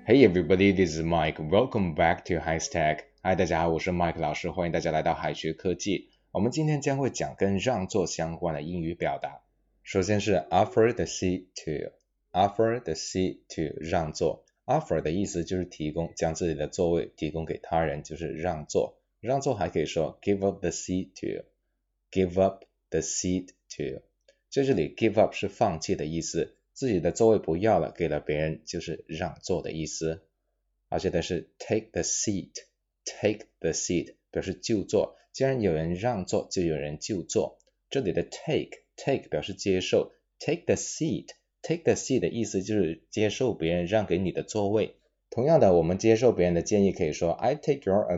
Hey everybody, this is Mike. Welcome back to HighStack. Hi, 大家好，我是 Mike 老师，欢迎大家来到海学科技。我们今天将会讲跟让座相关的英语表达。首先是 offer the seat to。offer the seat to 让座。offer 的意思就是提供，将自己的座位提供给他人，就是让座。让座还可以说 give up the seat to。give up the seat to。在这里 give up 是放弃的意思。自己的座位不要了，给了别人就是让座的意思。而且的是 take the seat 表示就座，既然有人让座就有人就座。这里的 take 表示接受， take the seat 的意思就是接受别人让给你的座位。同样的，我们接受别人的建议可以说 I take your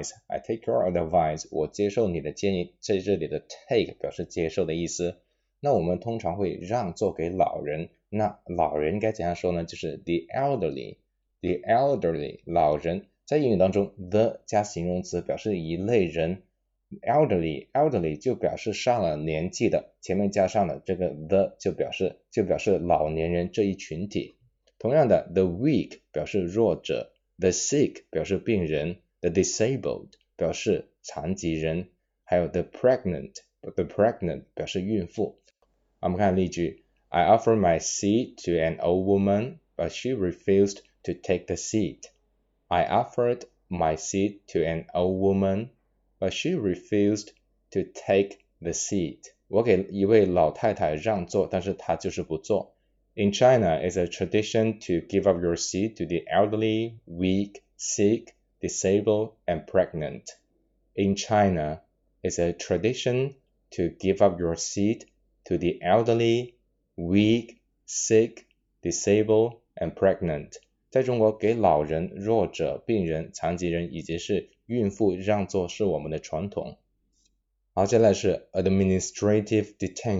advice， 我接受你的建议。在这里的 take 表示接受的意思。那我们通常会让座给老人，那老人该怎样说呢？就是 the elderly， 老人。在英语当中 the 加形容词表示一类人， elderly 就表示上了年纪的，前面加上了这个 the 就表示老年人这一群体。同样的 the weak 表示弱者， the sick 表示病人， the disabled 表示残疾人，还有 the pregnant 表示孕妇。我们看例句 I offered my seat to an old woman, but she refused to take the seat. I offered my seat to an old woman, but she refused to take the seat. 我给一位老太太让座，但是她就是不坐。In China, it's a tradition to give up your seat to the elderly, weak, sick, disabled, and pregnant. In China, it's a tradition to give up your seat to the elderly, weak, sick, disabled, and pregnant. 在中国，给老人、弱者、病人、残疾人以及是孕妇让座是我们的传统。好，接下来是 administrative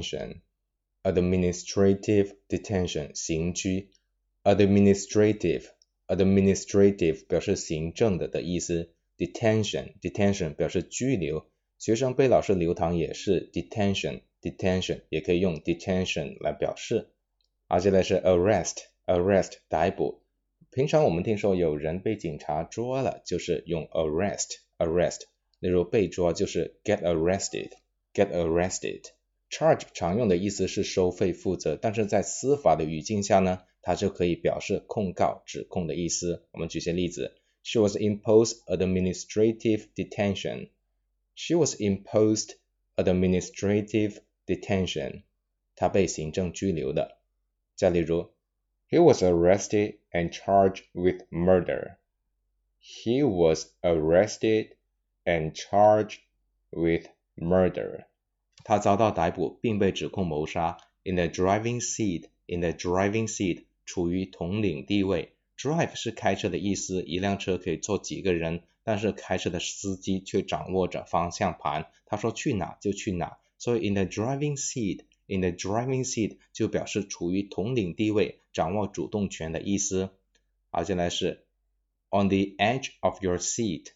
detention 刑拘。administrative 表示行政的意思。detention 表示拘留。学生被老师留堂也是 detention 也可以用 detention 来表示。好，接下来是 arrest 逮捕。平常我们听说有人被警察捉了，就是用 arrest。例如被捉就是 get arrested。 charge 常用的意思是收费负责，但是在司法的语境下呢，它就可以表示控告指控的意思。我们举些例子， She was imposed administrative detention. She was imposed administrative detention. 她被行政拘留的。再例如He was arrested and charged with murder. He was arrested and charged with murder. 他遭到逮捕并被指控谋杀。In the driving seat 处于统领地位。Drive 是开车的意思，一辆车可以坐几个人，但是开车的司机却掌握着方向盘，他说去哪就去哪。所以 in the driving seat 就表示处于统领地位，掌握主动权的意思。好，接下来是 on the edge of your seat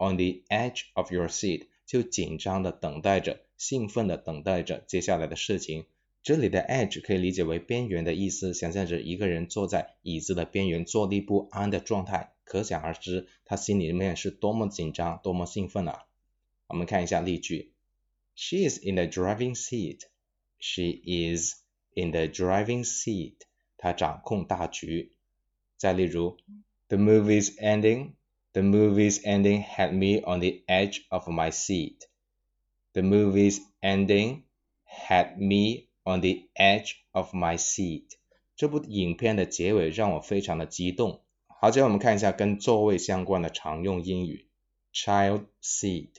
就紧张的等待着，兴奋的等待着接下来的事情。这里的 edge 可以理解为边缘的意思，想象着一个人坐在椅子的边缘，坐立不安的状态，可想而知他心里面是多么紧张多么兴奋啊。我们看一下例句， She is in the driving seat. She is in the driving seat. 她掌控大局。再例如 The movie's ending had me on the edge of my seat. The movie's ending had me on the edge of my seat. 这部影片的结尾让我非常的激动。好，接下来我们看一下跟座位相关的常用英语。 Child seat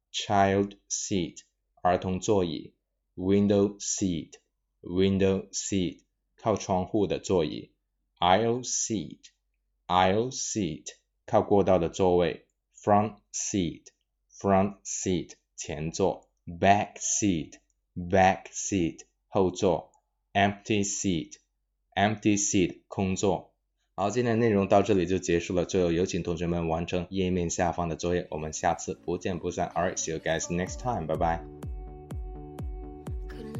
儿童座椅。Window seat 靠窗户的座椅。Aisle seat 靠过道的座位。Front seat 前座。Back seat 后座。Empty seat 空座。好，今天的内容到这里就结束了，最后有请同学们完成页面下方的作业，我们下次不见不散。 Alright, see you guys next time, bye bye。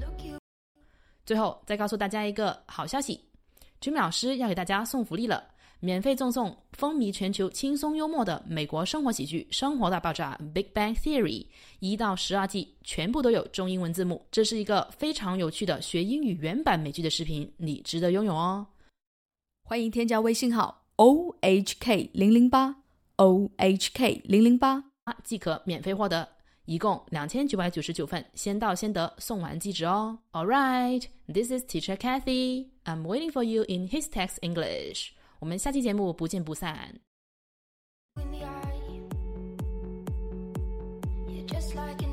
最后再告诉大家一个好消息，君美老师要给大家送福利了。 免费赠送风靡全球轻松幽默的美国生活喜剧《生活大爆炸》 Big Bang Theory 1到12季全部都有中英文字幕，这是一个非常有趣的学英语原版美剧的视频，你值得拥有哦。 欢迎添加微信号 OHK008 OHK008 即可免费获得，一共2999份，先到先得，送完即止哦。Alright, this is Teacher Kathy. I'm waiting for you in His Text English. 我们下期节目不见不散。